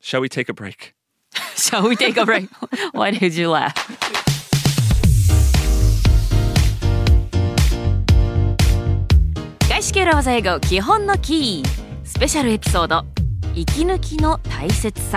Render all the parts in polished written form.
Shall we take a break? Shall we take a break? Why did you laugh? 外資系裏技英語基本のキースペシャルエピソード息抜きの大切さ。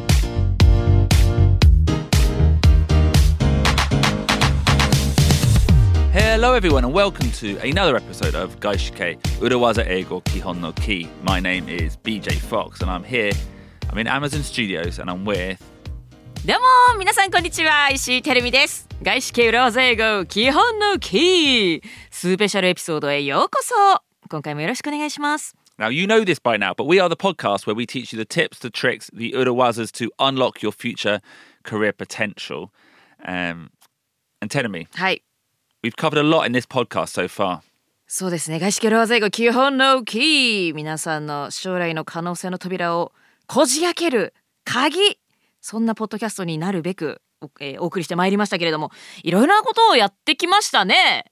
Hello everyone and welcome to another episode of Gaishike Urawaza Eigo Kihon no Ki. My name is BJ Fox and I'm in Amazon Studios and I'm with... どうも皆さんこんにちは、石井てるみです。外資系裏技英語基本のキースペシャルエピソードへようこそ。今回もよろしくお願いします。 Now you know this by now, but we are the podcast where we teach you the tips, the tricks, the urawazas to unlock your future career potential. And Terumi, はい。 we've covered a lot in this podcast so far. そうですね。外資系裏技英語基本のキー、皆さんの将来の可能性の扉をこじ開ける鍵、そんなポッドキャストになるべく、お送りしてまいりましたけれども、いろいろなことをやってきましたね。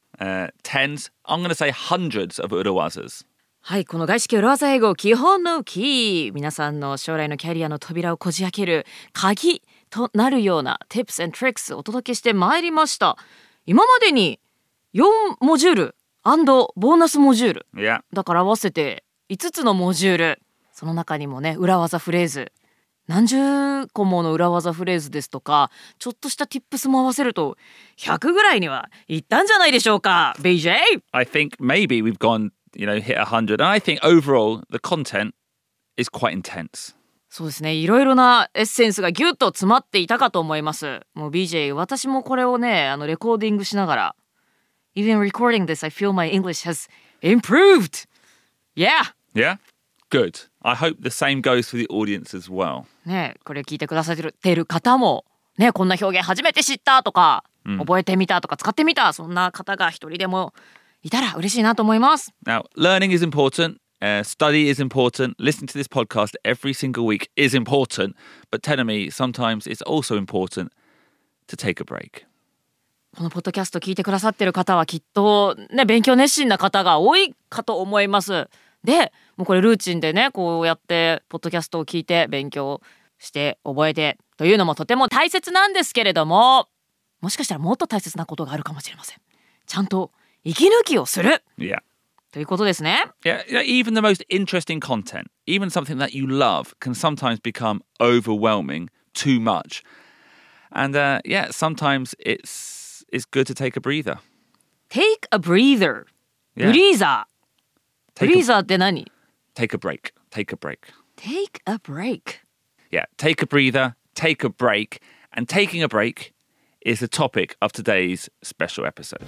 Tens, I'm going to say hundreds of urawazas. はい、この外資系裏技英語基本のキー、皆さんの将来のキャリアの扉をこじ開ける鍵となるような Tips and Tricks をお届けしてまいりました。今までに4モジュール&ボーナスモジュール、 Yeah. だから合わせて5つのモジュール、その中にもね裏技フレーズ何十個もの裏技フレーズですとかちょっとした Tips も合わせると100ぐらいにはいったんじゃないでしょうか BJ? I think maybe we've gone, hit 100 and I think overall the content is quite intense. そうですね、いろいろなエッセンスがギュッと詰まっていたかと思います。もう BJ、 私もこれをねレコーディングしながら Even recording this, I feel my English has improved. Yeah. Yeah? Good. I hope the same goes for the audience as well. ね、これ聞いてくださっている方もね、こんな表現初めて知ったとか、覚えてみたとか使ってみた、そんな方が一人でもいたら嬉しいなと思います。 Now, learning is important.Study is important. Listening to this podcast every single week is important. But telling me sometimes it's also important to take a break. このポッドキャスト聞いてくださってる方はきっとね勉強熱心な方が多いかと思います。で、もうこれルーチンでねこうやってポッドキャストを聞いて勉強して覚えてというのもとても大切なんですけれども、もしかしたらもっと大切なことがあるかもしれません。ちゃんと息抜きをする。 Yeah. ということですね。 Yeah, even the most interesting content, even something that you love, can sometimes become overwhelming, too much. And sometimes it's good to take a breather. Take a breather. Yeah. ブリーザー。ブリーザーって何？ Take a break. Take a break. Take a break. Yeah, take a breather, take a break. And taking a break is the topic of today's special episode.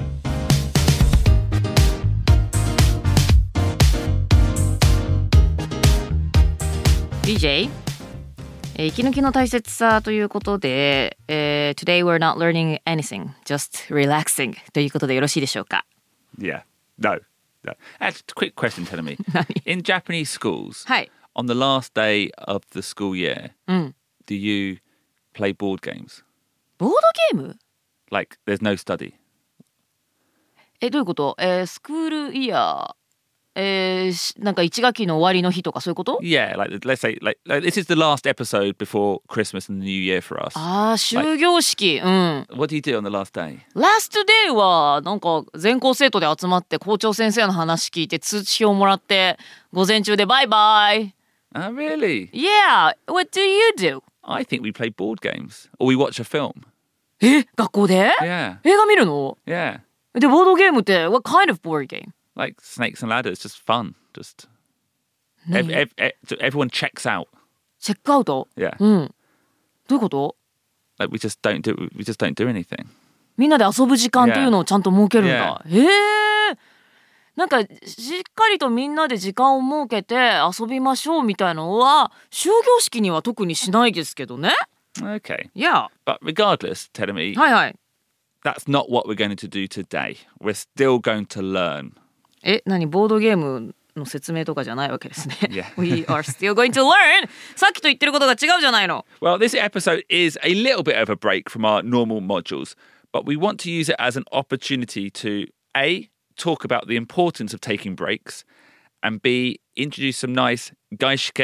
BJ、息抜きの大切さということで、Today we're not learning anything, just relaxing ということでよろしいでしょうか？ Yeah, no. That's a quick question, telling me. In Japanese schools, はい。 on the last day of the school year, do you play board games? ボードゲーム？ Like, there's no study. どういうこと？スクールイヤー。なんか1学期の終わりの日とかそういうこと？ Yeah, like let's say like this is the last episode before Christmas and the New Year for us. ああ、終業式。 What do you do on the last day? Last day はなんか全校生徒で集まって校長先生の話聞いて通知表もらって午前中でバイバイ。 Oh, really? Yeah, what do you do? I think we play board games or we watch a film. 学校で？ Yeah. 映画見るの？ Yeah. で、ボードゲームって What kind of board game? Like snakes and ladders, just fun. Just everyone checks out. チェックアウト？ Yeah. どういうこと？ Like we just don't do anything. みんなで遊ぶ時間というのをちゃんと設けるんだ。なんかしっかりとみんなで時間を設けて遊びましょうみたいなのは終業式には特にしないですけどね。 Okay. Yeah. But regardless, Terumi, はいはい。 that's not what we're going to do today. We're still going to learn. 何ボードゲームの説明とかじゃないわけですね。 Yeah. We are still going to learn. さっきと言ってることが違うじゃないの。 Well, this episode is a little bit of a break from our normal modules, but we want to use it as an opportunity to A, talk about the importance of taking breaks, and B, introduce some nice gaishike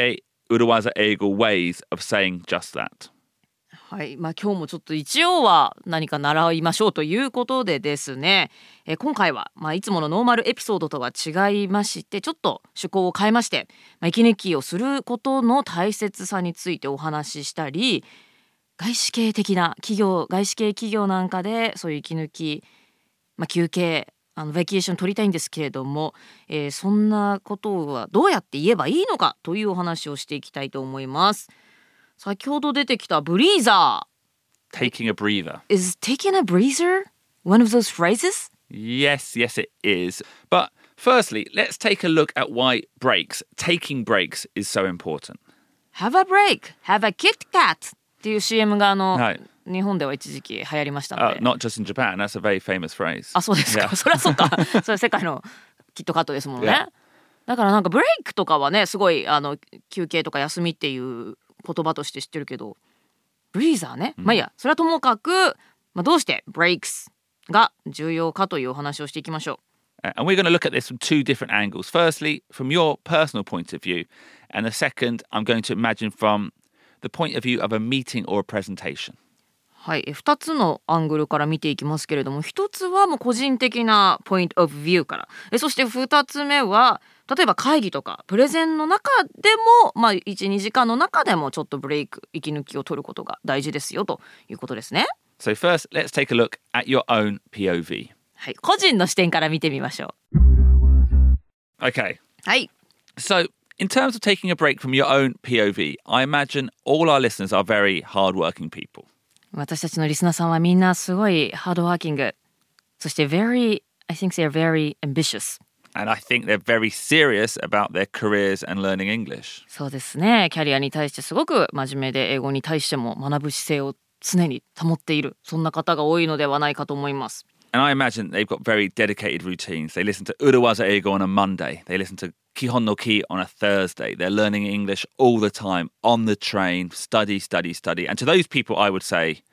Urawaza Eigo ways of saying just that. はい、今日もちょっと一応は何か習いましょうということでですね、今回は、いつものノーマルエピソードとは違いましてちょっと趣向を変えまして、息抜きをすることの大切さについてお話ししたり、外資系的な企業、外資系企業なんかでそういう息抜き、休憩ベケーション取りたいんですけれども、そんなことはどうやって言えばいいのかというお話をしていきたいと思います。先ほど出てきたブリーザー Taking a breather. Is taking a breather one of those phrases? Yes, it is. But firstly, let's take a look at why taking breaks is so important. Have a break, have a Kit Kat っていう CM がはい、 日本では一時期流行りましたので。 Not just in Japan, that's a very famous phrase. あ、そうですか。そりゃそうか。それ世界のキットカットですもんね。 Yeah. だからなんかブレイクとかはね、すごい休憩とか休みっていう言葉として知ってるけど、ブリーザーね、いいや、それはともかく、どうしてブレイクスが重要かというお話をしていきましょう。 And we're going to look at this from two different angles. Firstly, from your personal point of view, and the second, I'm going to imagine from the point of view of a meeting or a presentation. はい、2つのアングルから見ていきますけれども、1つはもう個人的なポイントオブビューから、そして2つ目は例えば会議とかプレゼンの中でも、1,2 時間の中でもちょっとブレイク、息抜きを取ることが大事ですよということですね。 So first, let's take a look at your own POV. はい、個人の視点から見てみましょう。Okay. はい。 So, in terms of taking a break from your own POV, I imagine all our listeners are very hardworking people. 私たちのリスナーさんはみんなすごいハードワーキング、そして I think they're very ambitious. And I think they're very serious about their careers and learning English. そうですね。キャリアに対してすごく真面目で、英語に対しても学ぶ姿勢を常に保っている、そんな方が多いのではないかと思います。 And I imagine they've got very dedicated routines. They listen to Urawaza Eigo on a Monday. They listen to Kihon no Ki on a Thursday. They're learning English all the time, on the train, study. And to those people, I would say,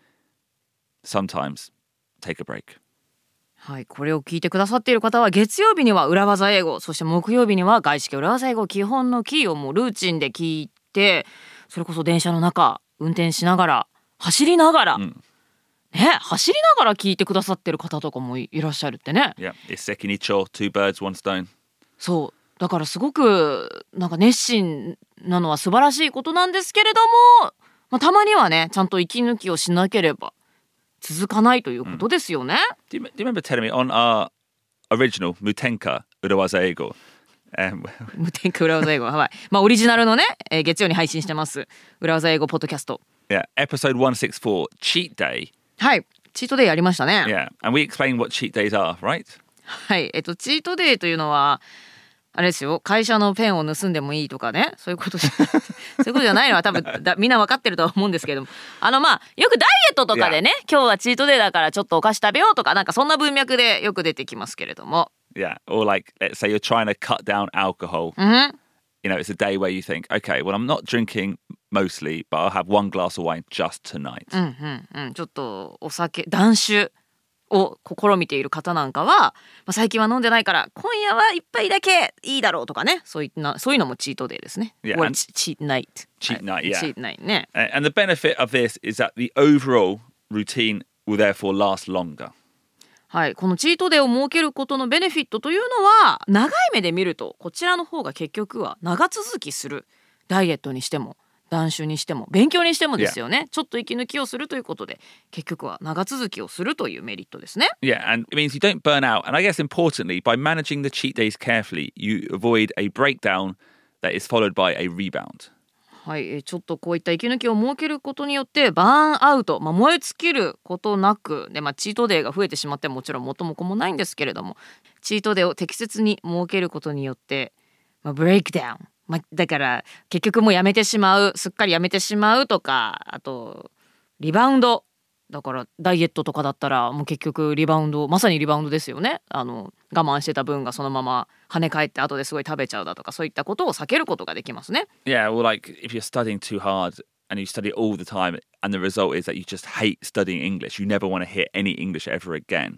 sometimes take a break. はい、これを聞いてくださっている方は月曜日には裏技英語、そして木曜日には外資系裏技英語、基本のキーをもうルーチンで聞いて、それこそ電車の中、運転しながら、走りながら、走りながら聞いてくださってる方とかもいらっしゃるってね。 Yeah, it's sekinicho, two birds, one stone. そう、だからすごくなんか熱心なのは素晴らしいことなんですけれども、たまにはね、ちゃんと息抜きをしなければ続かないということですよね。 Do you remember telling me on our original Mutenka Urawaza Eigo? 無添加裏技英語、はい。オリジナルのね、月曜に配信してます裏技英語ポッドキャスト。 Yeah, episode 164, Cheat Day. はい、チートデイやりましたね。 Yeah, and we explain what cheat days are, right? はい、チートデイというのはあれですよ、会社のペンを盗んでもいいとかね、そういうことそういうことじゃないのは多分みんな分かってるとは思うんですけども、よくダイエットとかでね、今日はチートデイだからちょっとお菓子食べようとか、なんかそんな文脈でよく出てきますけれども。 Yeah, or like let's say you're trying to cut down alcohol. You know, it's a day where you think, okay, well, I'm not drinking mostly, but I'll have one glass of wine just tonight. ちょっとお酒断酒を試みている方なんかは、最近は飲んでないから今夜は一杯だけいいだろうとかね、そういうのもチートデイですね。 Yeah, Or cheat night. Cheat night, yeah. Cheat night ね。 And the benefit of this is that the overall routine will therefore last longer. はい、このチートデーを設けることのベネフィットというのは長い目で見るとこちらの方が結局は長続きする。ダイエットにしても断酒にしても勉強にしてもですよね。ちょっと息抜きをするということで結局は長続きをするというメリットですね。 Yeah, and it means you don't burn out. And I guess importantly, by managing the cheat days carefully, you avoid a breakdown that is followed by a rebound. はい、ちょっとこういった息抜きを設けることによってバーンアウト、燃え尽きることなくで、チートデーが増えてしまってもちろん元も子もないんですけれども、チートデーを適切に設けることによって、ブレイクダウン、だから結局もうやめてしまう、すっかりやめてしまうとか、あとリバウンドだからダイエットとかだったらもう結局リバウンド、まさにリバウンドですよね。我慢してた分がそのまま跳ね返って後ですごい食べちゃうだとか、そういったことを避けることができますね。 Yeah, well, like if you're studying too hard and you study all the time and the result is that you just hate studying English, you never want to hear any English ever again.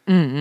うんうんうん。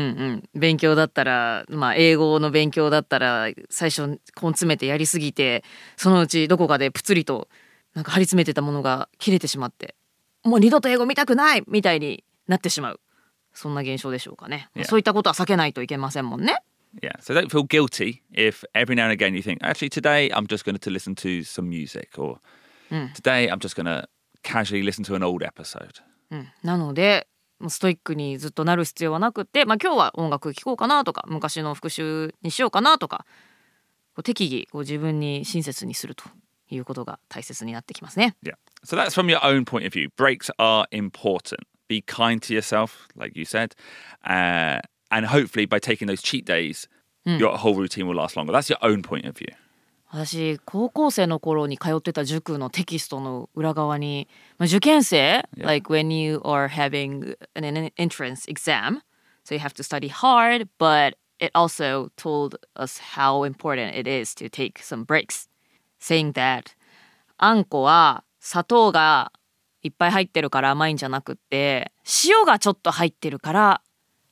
勉強だったら、まあ英語の勉強だったら最初根詰めてやりすぎて、そのうちどこかでプツリとなんか張り詰めてたものが切れてしまって、もう二度と英語見たくないみたいになってしまう。そんな現象でしょうかね。 Yeah. そういったことは避けないといけませんもんね。 Yeah, so don't feel guilty if every now and again you think, actually, today I'm just going to listen to some music, or today I'm just going to casually listen to an old episode. なので、ストイックにずっとなる必要はなくって、まあ、今日は音楽聴こうかなとか、昔の復習にしようかなとか、適宜自分に親切にするということが大切になってきますね。 Yeah, so that's from your own point of view. Breaks are important. Be kind to yourself, like you said. And hopefully by taking those cheat days, your whole routine will last longer. That's your own point of view. 私高校生の頃に通ってた塾のテキストの裏側に、受験生、like when you are having an entrance exam, so you have to study hard, but it also told us how important it is to take some breaks, saying that あんこは砂糖がいっぱい入ってるから甘いんじゃなくって、塩がちょっと入ってるから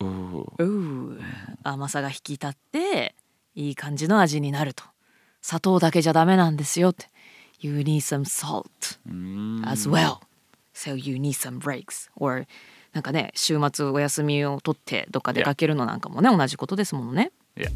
甘さが引き立っていい感じの味になると。砂糖だけじゃダメなんですよって。You need some salt as well. So you need some breaks. Or なんかね、週末お休みを取ってどっか出かけるのなんかもね、同じことですものね。 Yeah.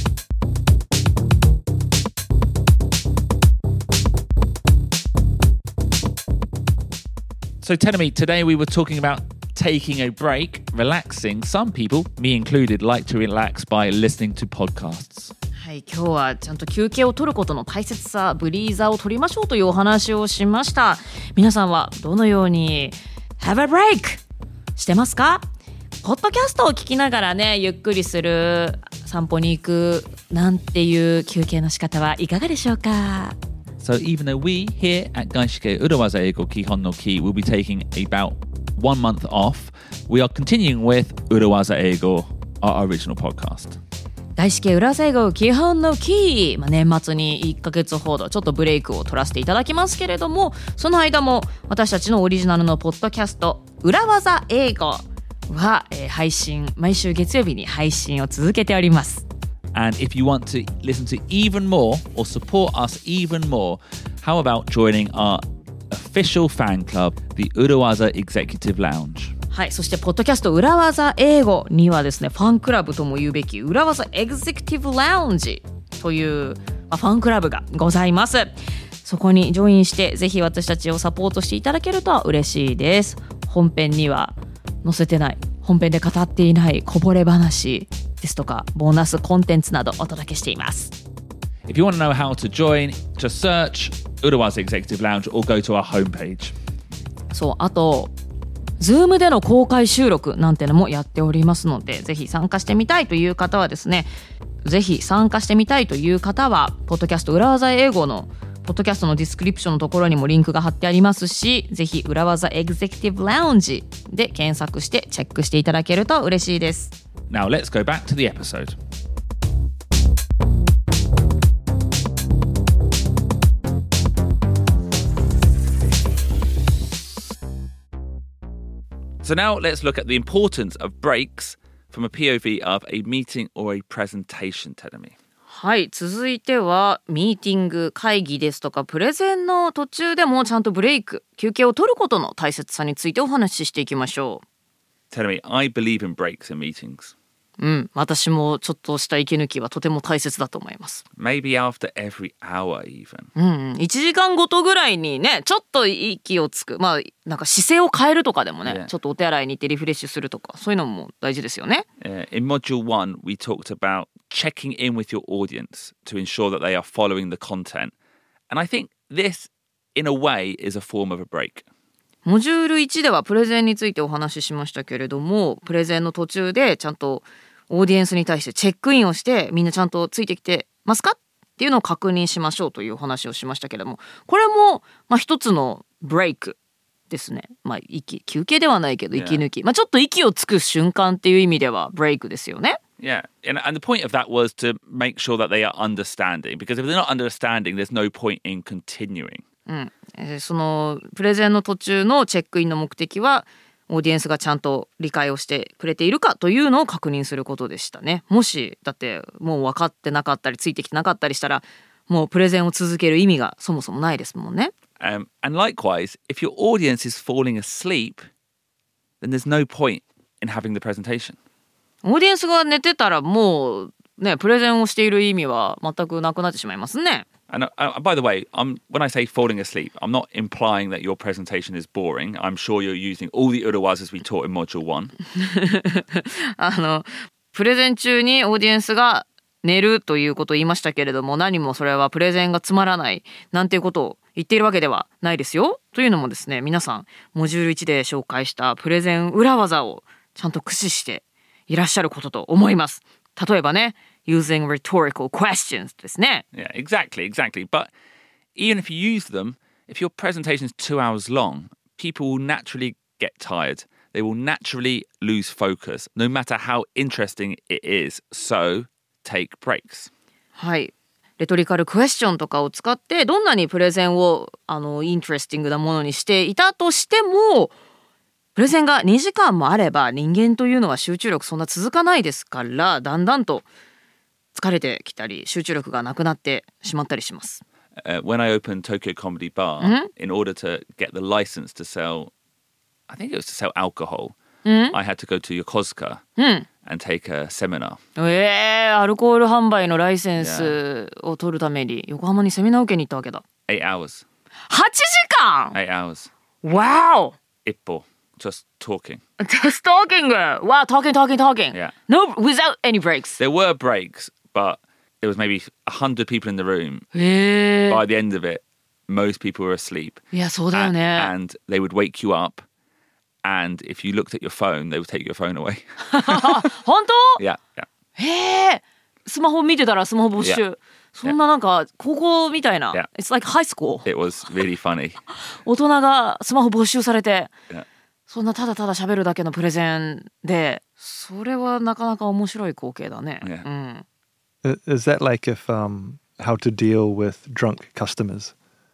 So Tenemy, today we were talking about taking a break, relaxing. Some people, me included, like to relax by listening to podcasts. はい、今日はちゃんと休憩を取ることの大切さ、ブリーザーを取りましょうというお話をしました。皆さんはどのように Have a break してますか？ポッドキャストを聞きながらね、ゆっくりする、散歩に行くなんていう休憩の仕方はいかがでしょうか？ So even though we here at Gaishike Urawaza Eigo Kihon no Ki will be taking about 1 month off, we are continuing with Urawaza Eigo, our original podcast. 外資系裏技英語基本のキー、年末に1ヶ月ほどちょっとブレイクを取らせていただきますけれども、その間も私たちのオリジナルのポッドキャスト裏技英語は、配信、毎週月曜日に配信を続けております。 And if you want to listen to even more or support us even more, how about joining our official fan club, the Urawaza Executive Lounge? はい、そしてポッドキャスト裏技英語にはですね、ファンクラブとも言うべき裏技エグゼクティブラウンジという、ファンクラブがございます。そこにジョインしてぜひ私たちをサポートしていただけると嬉しいです。本編には載せてない、本編で語っていないこぼれ話ですとかボーナスコンテンツなどお届けしています。 If you want to know how to join, just search Urawaza Executive Lounge or go to our homepage. そう、あとZoom での公開収録なんてのもやっておりますので、ぜひ参加してみたいという方はですね、ぜひ参加してみたいという方はポッドキャスト裏技英語のポッドキャストのディスクリプションのところにもリンクが貼ってありますし、ぜひ裏技エグゼクティブラウンジで検索してチェックしていただけると嬉しいです。 Now let's go back to the episode. So now let's look at the importance of breaks from a POV of a meeting or a presentation, Tenemy. はい、続いてはミーティング、会議ですとかプレゼンの途中でもちゃんとブレイク、休憩を取ることの大切さについてお話ししていきましょう。 Tenemy, I believe in breaks in meetings. 私もちょっとした息抜きはとても大切だと思います。 Maybe after every hour even. 1時間ごとぐらいにね、ちょっと息をつく、なんか姿勢を変えるとかでもね、ちょっとお手洗いに行ってリフレッシュするとか、そういうのも大事ですよね。 In Module 1, we talked about checking in with your audience to ensure that they are following the content. And I think this, in a way, is a form of a break. モジュール1ではプレゼンについてお話ししましたけれども、プレゼンの途中でちゃんとオーディエンスに対してチェックインをして、みんなちゃんとついてきてますかっていうのを確認しましょうというお話をしましたけれども、これも一つのブレイクですね。休憩ではないけど息抜き、ちょっと息をつく瞬間っていう意味ではブレイクですよね。 Yeah, and the point of that was to make sure that they are understanding, because if they're not understanding, there's no point in continuing. そのプレゼンの途中のチェックインの目的は、 オーディエンスがちゃんと理解をしてくれているかというのを確認することでしたね。もしだってもう分かってなかったりついてきてなかったりしたらもうプレゼンを続ける意味がそもそもないですもんね。 And likewise, if your audience is falling asleep, then there's no point in having the presentation. オーディエンスが寝てたらもうねプレゼンをしている意味は全くなくなってしまいますね。 And by the way, when I say falling asleep, I'm not implying that your presentation is boring. I'm sure you're using all the urawas we taught in Module 1. プレゼン中にオーディエンスが寝るということを言いましたけれども、何もそれはプレゼンがつまらないなんていうことを言っているわけではないですよ。というのもですね、皆さんモジュール1で紹介したプレゼン裏技をちゃんと駆使していらっしゃることと思います。例えばね、using rhetorical questions ですね。 Yeah, exactly. But even if you use them, if your presentation is 2 hours long, people will naturally get tired. They will naturally lose focus, no matter how interesting it is. So, take breaks. はい。レトリカルクエスチョンとかを使ってどんなにプレゼンをイントレスティングなものにしていたとしても、プレゼンが2時間もあれば人間というのは集中力そんな続かないですから、だんだんと疲れてきたり集中力がなくなってしまったりします。 When I opened Tokyo Comedy Bar, in order to get the license to sell, I think it was to sell alcohol, I had to go to Yokosuka and take a seminar. アルコール販売のライセンスを取るために横浜にセミナーを受けに行ったわけだ。 8 hours. 8時間 8 hours. Wow! 一歩. Just talking. Just talking. Wow, talking. Yeah. No, without any breaks. There were breaks, but there was maybe 100 people in the room. へー。 By the end of it, most people were asleep. いや、そうだよね。 And they would wake you up. And if you looked at your phone, they would take your phone away. 本当？ Yeah. へえ。スマホ見てたらスマホ没収。 Yeah. そんななんか高校みたいな。 Yeah. It's like high school. It was really funny. 大人がスマホ没収されて、 Yeah. そんなただただ喋るだけのプレゼンで、それはなかなか面白い光景だね。 Yeah. うん。 Is that like if how to deal with drunk customers?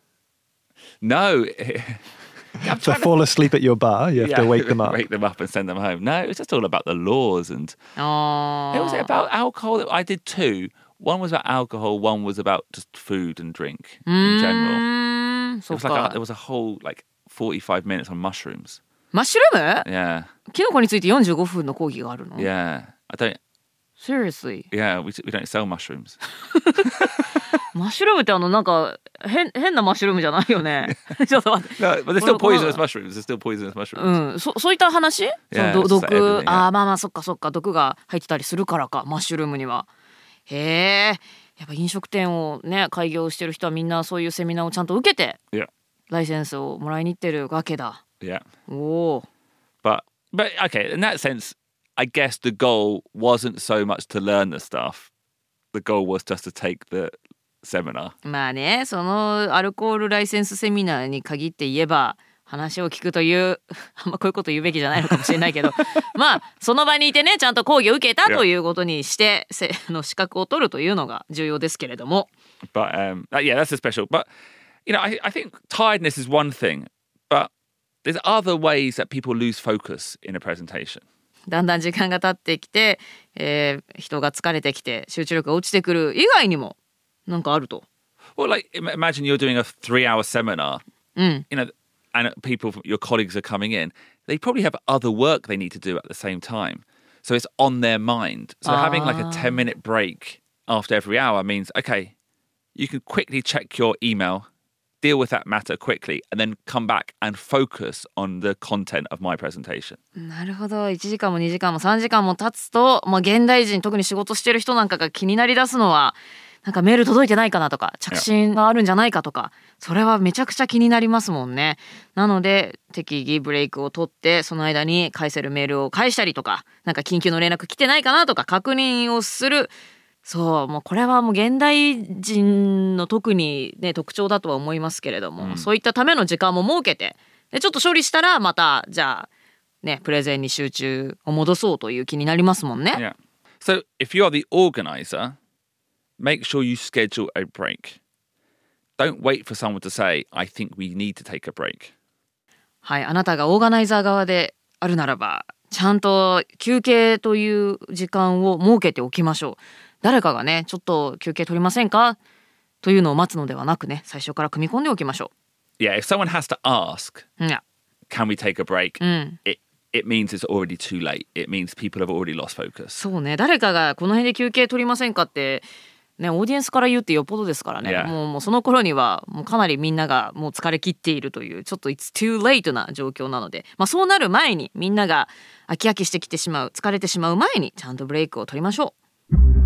No. If they fall asleep at your bar, you have to wake them up. Wake them up and send them home. No, it was just all about the laws and it was about alcohol. I did two. One was about alcohol. One was about just food and drink in general. そう It was like か。 there was a whole 45 minutes on mushrooms. マッシュルーム？ Yeah, キノコについて45分の講義があるの？ yeah. I don't. Seriously? Yeah, we don't sell mushrooms. マッシュルームってなんか変なマッシュルームじゃないよね。ちょっと待って。 No, but they're still poisonous mushrooms. They're still poisonous mushrooms. うん、そういった話？ Yeah, その it's 毒、 like everything, yeah. まあそっか毒が入ってたりするからか、マッシュルームには。へえ、やっぱ飲食店をね開業してる人はみんなそういうセミナーをちゃんと受けて Yeah, ライセンスをもらいに行ってるわけだ。 yeah. おお。 But okay, in that sense, I guess the goal wasn't so much to learn the stuff. The goal was just to take the seminar. まあね、そのアルコールライセンスセミナーに限って言えば話を聞くというあんまこういうこと言うべきじゃないのかもしれないけどまあその場にいてねちゃんと講義を受けたということにして資格を取るというのが重要ですけれども。 But yeah, that's a special. But I think tiredness is one thing, but there's other ways that people lose focus in a presentation. だんだん時間が経ってきて、人が疲れてきて集中力が落ちてくる以外にもなんかあると。 Well, like imagine you're doing a 3-hour seminar, and people, your colleagues are coming in. They probably have other work they need to do at the same time. So it's on their mind. So having like a 10-minute break after every hour means, okay, you can quickly check your email, deal with that matter quickly, and then come back and focus on the content of my presentation. なるほど。1時間も2時間も3時間も経つと、現代人特に仕事してる人なんかが気になりだすのはなんかメール届いてないかなとか着信があるんじゃないかとか、それはめちゃくちゃ気になりますもんね。なので適宜ブレイクを取ってその間に返せるメールを返したりとか、なんか緊急の連絡来てないかなとか確認をする。そうもうこれはもう現代人の特にね特徴だとは思いますけれども、そういったための時間も設けてでちょっと処理したらまたじゃあねプレゼンに集中を戻そうという気になりますもんね。 Yeah. So if you are the organizer, make sure you schedule a break. Don't wait for someone to say, I think we need to take a break. はい、あなたがオーガナイザー側であるならばちゃんと休憩という時間を設けておきましょう。誰かがねちょっと休憩取りませんかというのを待つのではなくね、最初から組み込んでおきましょ Yeah, if someone has to ask, う。いや、 can we take a break? うん、 It means it's already too late. It means people have already lost focus. そうね、誰かがこの辺で休憩取りませんかってね、オーディエンスから言うってよっぽどですからね、 Yeah. もうその頃にはもうかなりみんながもう疲れ切っているというちょっと It's too late な状況なので、そうなる前にみんなが飽き飽きしてきてしまう、疲れてしまう前にちゃんとブレイクを取りましょう。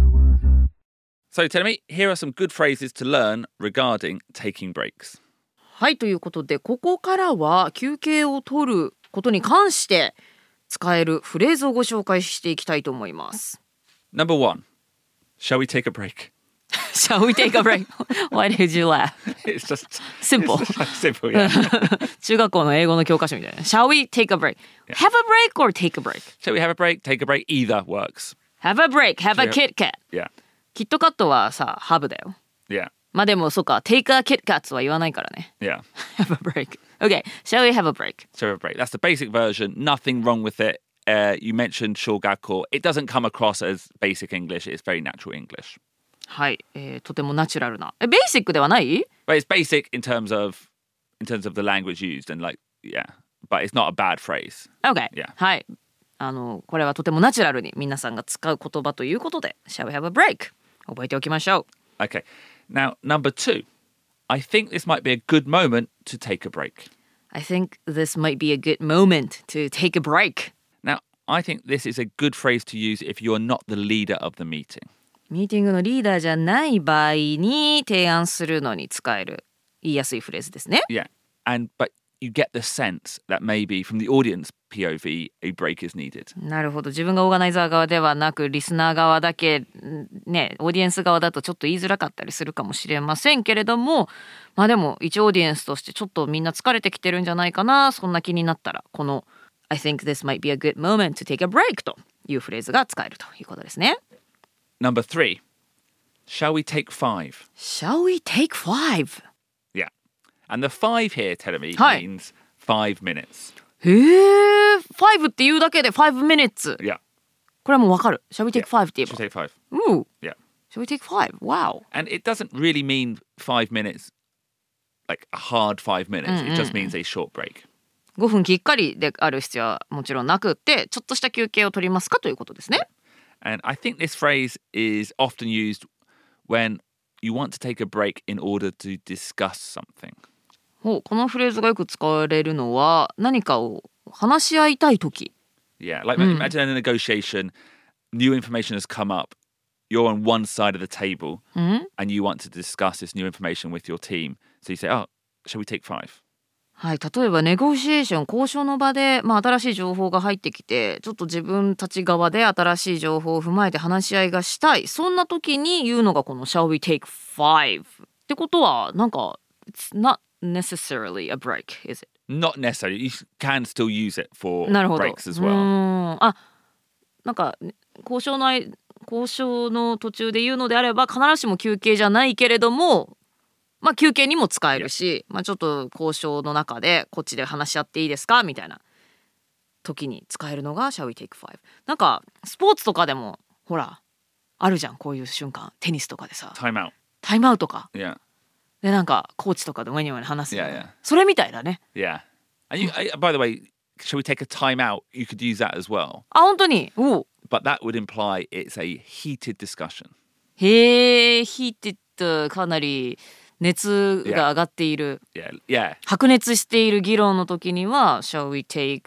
So tell me, here are some good phrases to learn regarding taking breaks. はい、ということでここからは休憩を取ることに関して使えるフレーズをご紹介していきたいと思います。 Number 1, shall we take a break? Shall we take a break? Why did you laugh? It's just Simple. It's just simple, yeah. 中学校の英語の教科書みたいな。Shall we take a break? Have a break or take a break? Shall we have a break? Take a break? Either works. Have a break, have a Kit Kat. Yeah, キットカットはさ、ハブだよ。 yeah, でもそうか、take a Kit Kat は言わないからね。 yeah. Have a break. Okay, shall we have a break? Shall we have a break? That's the basic version. Nothing wrong with it. You mentioned shogakko. It doesn't come across as basic English. It's very natural English. はい、とてもナチュラルな。ベーシックではない？ But it's basic in terms of the language used and like yeah. But it's not a bad phrase. Okay. Yeah. はい。これはとてもナチュラルに皆さんが使う言葉ということで、Shall we have a break? 覚えておきましょう。 Okay. Now, number 2. I think this might be a good moment to take a break. I think this might be a good moment to take a break. Now, I think this is a good phrase to use if you're not the leader of the meeting. ミーティングのリーダーじゃない場合に提案するのに使える言いやすいフレーズですね。 Yeah. But you get the sense that maybe from the audience POV, a break is needed. なるほど。自分がオーガナイザー側ではなくリスナー側だけね、オーディエンス側だとちょっと言いづらかったりするかもしれませんけれども、でも一オーディエンスとしてちょっとみんな疲れてきてるんじゃないかな、そんな気になったらこの I think this might be a good moment to take a break というフレーズが使えるということですね。 Number 3. Shall we take 5? Shall we take 5? Yeah. And the 5 here, Telemi, はい。 means 5 minutes. へえ、5っていうだけで5 minutes。 Yeah. これはもうわかる。Shall we take 5って言 Shall え we ば。 take 5? Shall Yeah. we take 5? Wow. And it doesn't really mean 5 minutes, like a hard 5 minutes. It just means a short break. 5分きっかりである必要はもちろんなくって、ちょっとした休憩を取りますかということですね。 And I think this phrase is often used when you want to take a break in order to discuss something. このフレーズがよく使われるのは何かを話し合いたいとき。 Yeah, like imagine in a negotiation, new information has come up. You're on one side of the table and you want to discuss this new information with your team. So you say, oh, shall we take 5? はい、例えばネゴシエーション交渉の場で、新しい情報が入ってきてちょっと自分たち側で新しい情報を踏まえて話し合いがしたい、そんな時に言うのがこの Shall we take 5ってことはなんか It's not necessarily a break, is it? Not necessarily. You can still use it for なるほど。 breaks as well. なんか交渉の途中で言うのであれば必ずしも休憩じゃないけれども、休憩にも使えるし、ちょっと交渉の中でこっちで話し合っていいですかみたいな時に使えるのが Shall we take 5。なんかスポーツとかでもほらあるじゃん、こういう瞬間。テニスとかでさ Time out. タイムアウトか Yeah. でなんかコーチとかでワニワニ話すよね。 Yeah, yeah. それみたいだね。 Yeah. And by the way, shall we take a time out? You could use that as well. 本当に。 But that would imply it's a heated discussion. へえ、ヒーティッド、かなり熱が上がっている、 Yeah. 白熱している議論の時には Shall we take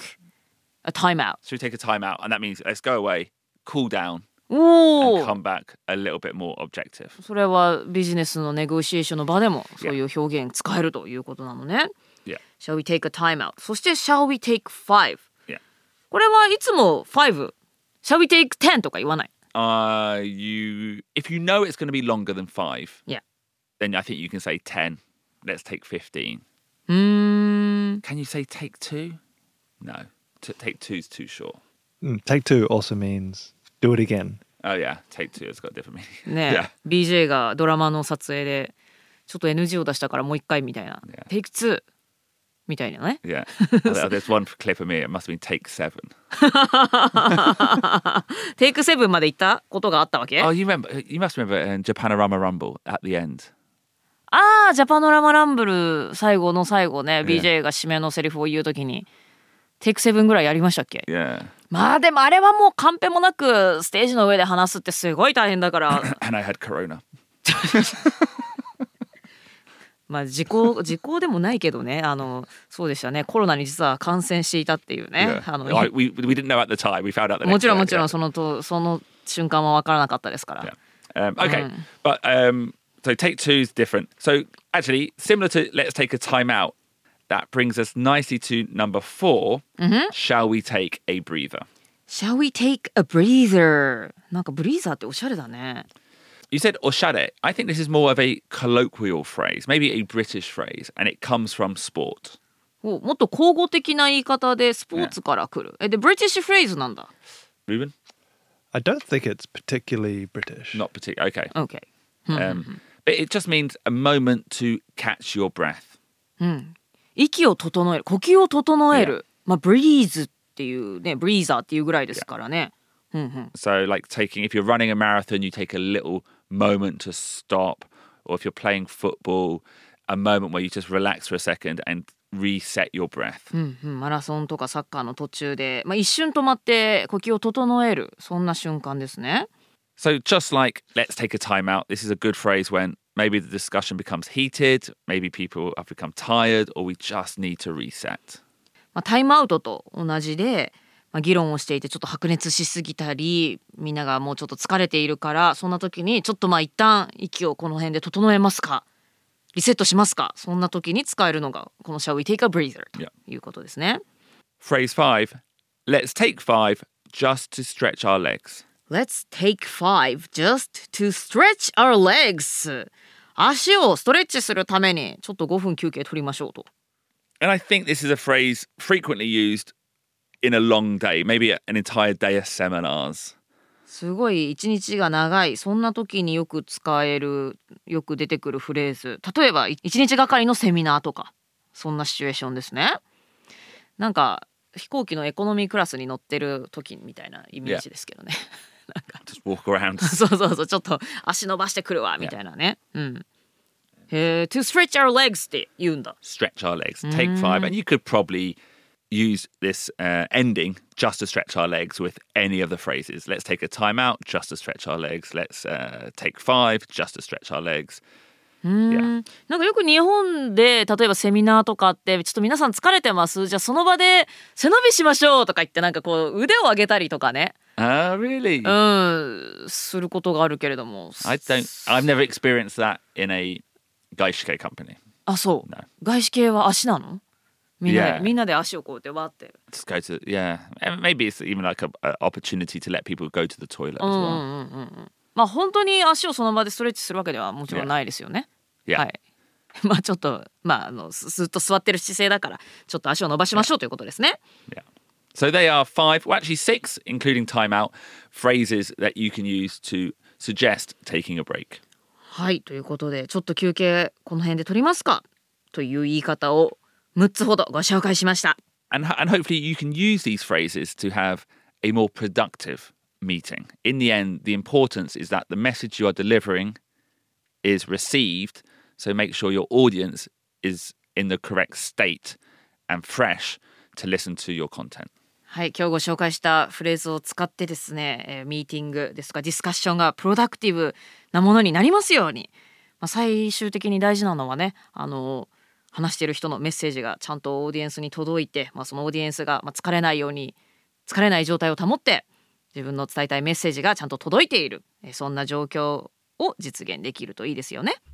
a time out? Shall we take a time out? And that means let's go away, cool down, お and お、 come back a little bit more objective. それはビジネスのネゴシエーションの場でもそういう表現使えるということなのね。 Yeah. Shall we take a time out? そして Shall we take 5? Yeah. これはいつも5 Shall we take 10とか言わない。 If you know it's going to be longer than 5, Yeah. then I think you can say 10. Let's take 15. うーん。 Can you say take 2? No. Take 2 is too short. Take two also means do it again. Oh yeah, take 2 has got a different meaning. ねえ、BJ がドラマの撮影でちょっと NG を出したからもう一回みたいな。 Yeah. Take 2 みたいなね。 Yeah. There's one clip of me. It must have been take 7. テイク7まで行ったことがあったわけ？ Oh, you must remember in Japanorama Rumble at the end. ああ、ジャパノラマランブル最後の最後ね、 Yeah. BJ が締めのセリフを言うときにテイク7ぐらいやりましたっけ？ Yeah. まあでもあれはもうカンペもなくステージの上で話すってすごい大変だから。 And I had corona. まあ時効でもないけどね、そうでしたね、コロナに実は感染していたっていうね。 Yeah. We didn't know at the time. We found out the next もちろん day. もちろん Yeah. その瞬間は分からなかったですから。 Yeah. Okay. But so take 2 is different. So actually, similar to let's take a time out. That brings us nicely to number 4. Shall we take a breather? Shall we take a breather? なんかブリーザーっておしゃれだね。 You said oshare. I think this is more of a colloquial phrase, maybe a British phrase, and it comes from sport. もっと口語的な言い方でスポーツから来る。で、ブリティッシュフレーズなんだ。 Ruben? I don't think it's particularly British. Not particular. Okay. Okay. But it just means a moment to catch your breath. 息を整える、呼吸を整える。まあ、ブリーズっていうね、ブリーザーっていうぐらいですからね。 So like if you're running a marathon, you take a little moment to stop. Or if you're playing football, a moment where you just relax for a second and reset your breath. マラソンとかサッカーの途中で、まあ、一瞬止まって呼吸を整える、そんな瞬間ですね。 So just like let's take a time out, this is a good phrase when maybe the discussion becomes heated, maybe people have become tired, or we just need to reset. まあ、タイムアウトと同じで、まあ、議論をしていてちょっと白熱しすぎたり、みんながもうちょっと疲れているから、そんな時にちょっとまあ一旦息をこの辺で整えますか、リセットしますか、そんな時に使えるのがこの Shall we take a breather ということですね。 Phrase 5, let's take 5 just to stretch our legs. Let's take 5 just to stretch our legs. 足をストレッチするためにちょっと5分休憩取りましょうと。 And I think this is a phrase frequently used in a long day, maybe an entire day of seminars. すごい一日が長い、そんな時によく使える、よく出てくるフレーズ。例えば一日がかりのセミナーとか、そんなシチュエーションですね。なんか飛行機のエコノミークラスに乗ってる時みたいなイメージですけどね。なんか Just walk around. そうちょっと足伸ばしてくるわみたいなね。To stretch our legs って言うんだ。 Stretch our legs. Take 5. And you could probably use this ending just to stretch our legs with any of the phrases. Let's take a time out just to stretch our legs. Let's take 5 just to stretch our legs. なんかよく日本で例えばセミナーとかあって、ちょっと皆さん疲れてます、じゃあその場で背伸びしましょうとか言って、なんかこう腕を上げたりとかね、 Really? することがあるけれども、 I've never experienced that in a gaishike company. あ、そう、 No. 外資系は足なの？みんなで、 Yeah. みんなで足をこうやってわって。 Just go to, yeah. And maybe it's even like an opportunity to let people go to the toilet as well. まあ本当に足をその場でストレッチするわけではもちろんないですよね。 Yeah. はい。まあちょっとずっと座ってる姿勢だからちょっと足を伸ばしましょうということですね。 Yeah. So they are 5, well actually 6, including time out, phrases that you can use to suggest taking a break. はい、ということでちょっと休憩この辺で取りますかという言い方を6つほどご紹介しました。 And hopefully you can use these phrases to have a more productive meeting. In the end, the importance is that the message you are delivering is received, so make sure your audience is in the correct state and fresh to listen to your content. はい、今日ご紹介したフレーズを使ってですね、ミーティングですとかディスカッションがプロダクティブなものになりますように、最終的に大事なのはね、話している人のメッセージがちゃんとオーディエンスに届いて、そのオーディエンスが疲れないように、疲れない状態を保って自分の伝えたいメッセージがちゃんと届いている、そんな状況を実現できるといいですよね。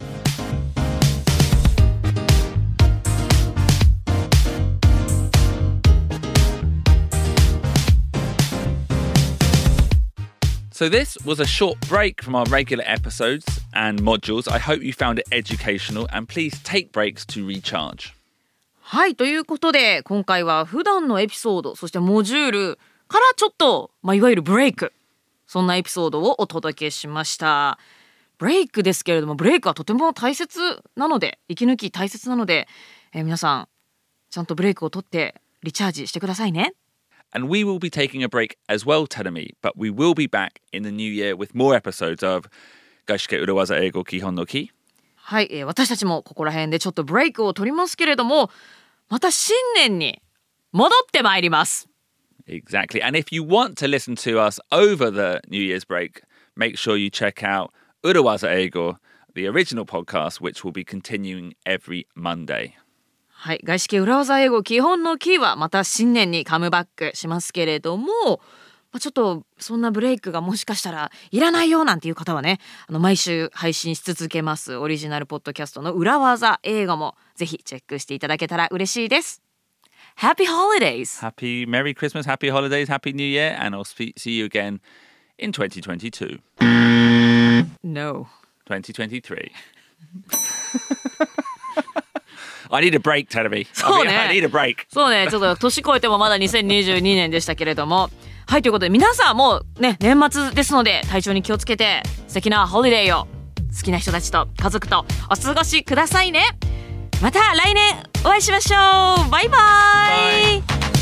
So this was a short break from our regular episodes and modules. I hope you found it educational and please take breaks to recharge. はい、ということで今回は普段のエピソード、そしてモジュールからちょっと、いわゆるブレイク、そんなエピソードをお届けしました。ブレイクですけれども、ブレイクはとても大切なので、息抜き大切なので、皆さんちゃんとブレイクを取ってリチャージしてくださいね。 And we will be taking a break as well, Terumi, but we will be back in the new year with more episodes of 外資系裏技英語基本のキ。 はい、私たちもここら辺でちょっとブレイクを取りますけれども、また新年に戻ってまいります。 Exactly. And if you want to listen to us over the New Year's break, make sure you check out 裏技英語 the original podcast, which will be continuing every Monday. はい、外資系裏技英語基本のキーはまた新年にカムバックしますけれども、ちょっとそんなブレイクがもしかしたらいらないよなんていう方はね、毎週配信し続けますオリジナルポッドキャストの裏技英語もぜひチェックしていただけたら嬉しいです。Happy Holidays! Happy Merry Christmas, Happy Holidays, Happy New Year, and I'll see you again in 2022. No. 2023. I need a break, Terumi. そうね。 I need a break. そうね。ちょっと年越えてもまだ2022年でしたけれども。はい、ということで皆さんもうね、年末ですので体調に気をつけて素敵なホリデーを好きな人たちと家族とお過ごしくださいね。また来年お会いしましょう。バイバイ。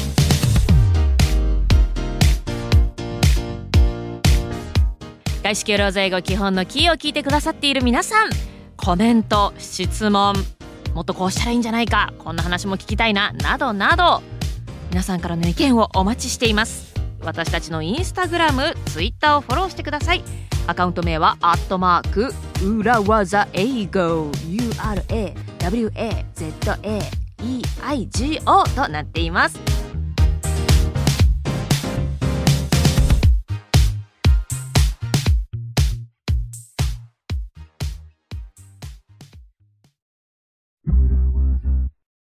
外資系裏技英語基本のキーを聞いてくださっている皆さん、コメント、質問、もっとこうしたらいいんじゃないか、こんな話も聞きたいな、などなど皆さんからの意見をお待ちしています。私たちのインスタグラム、ツイッターをフォローしてください。アカウント名は@裏技英語 URAWAZAEIGO となっています。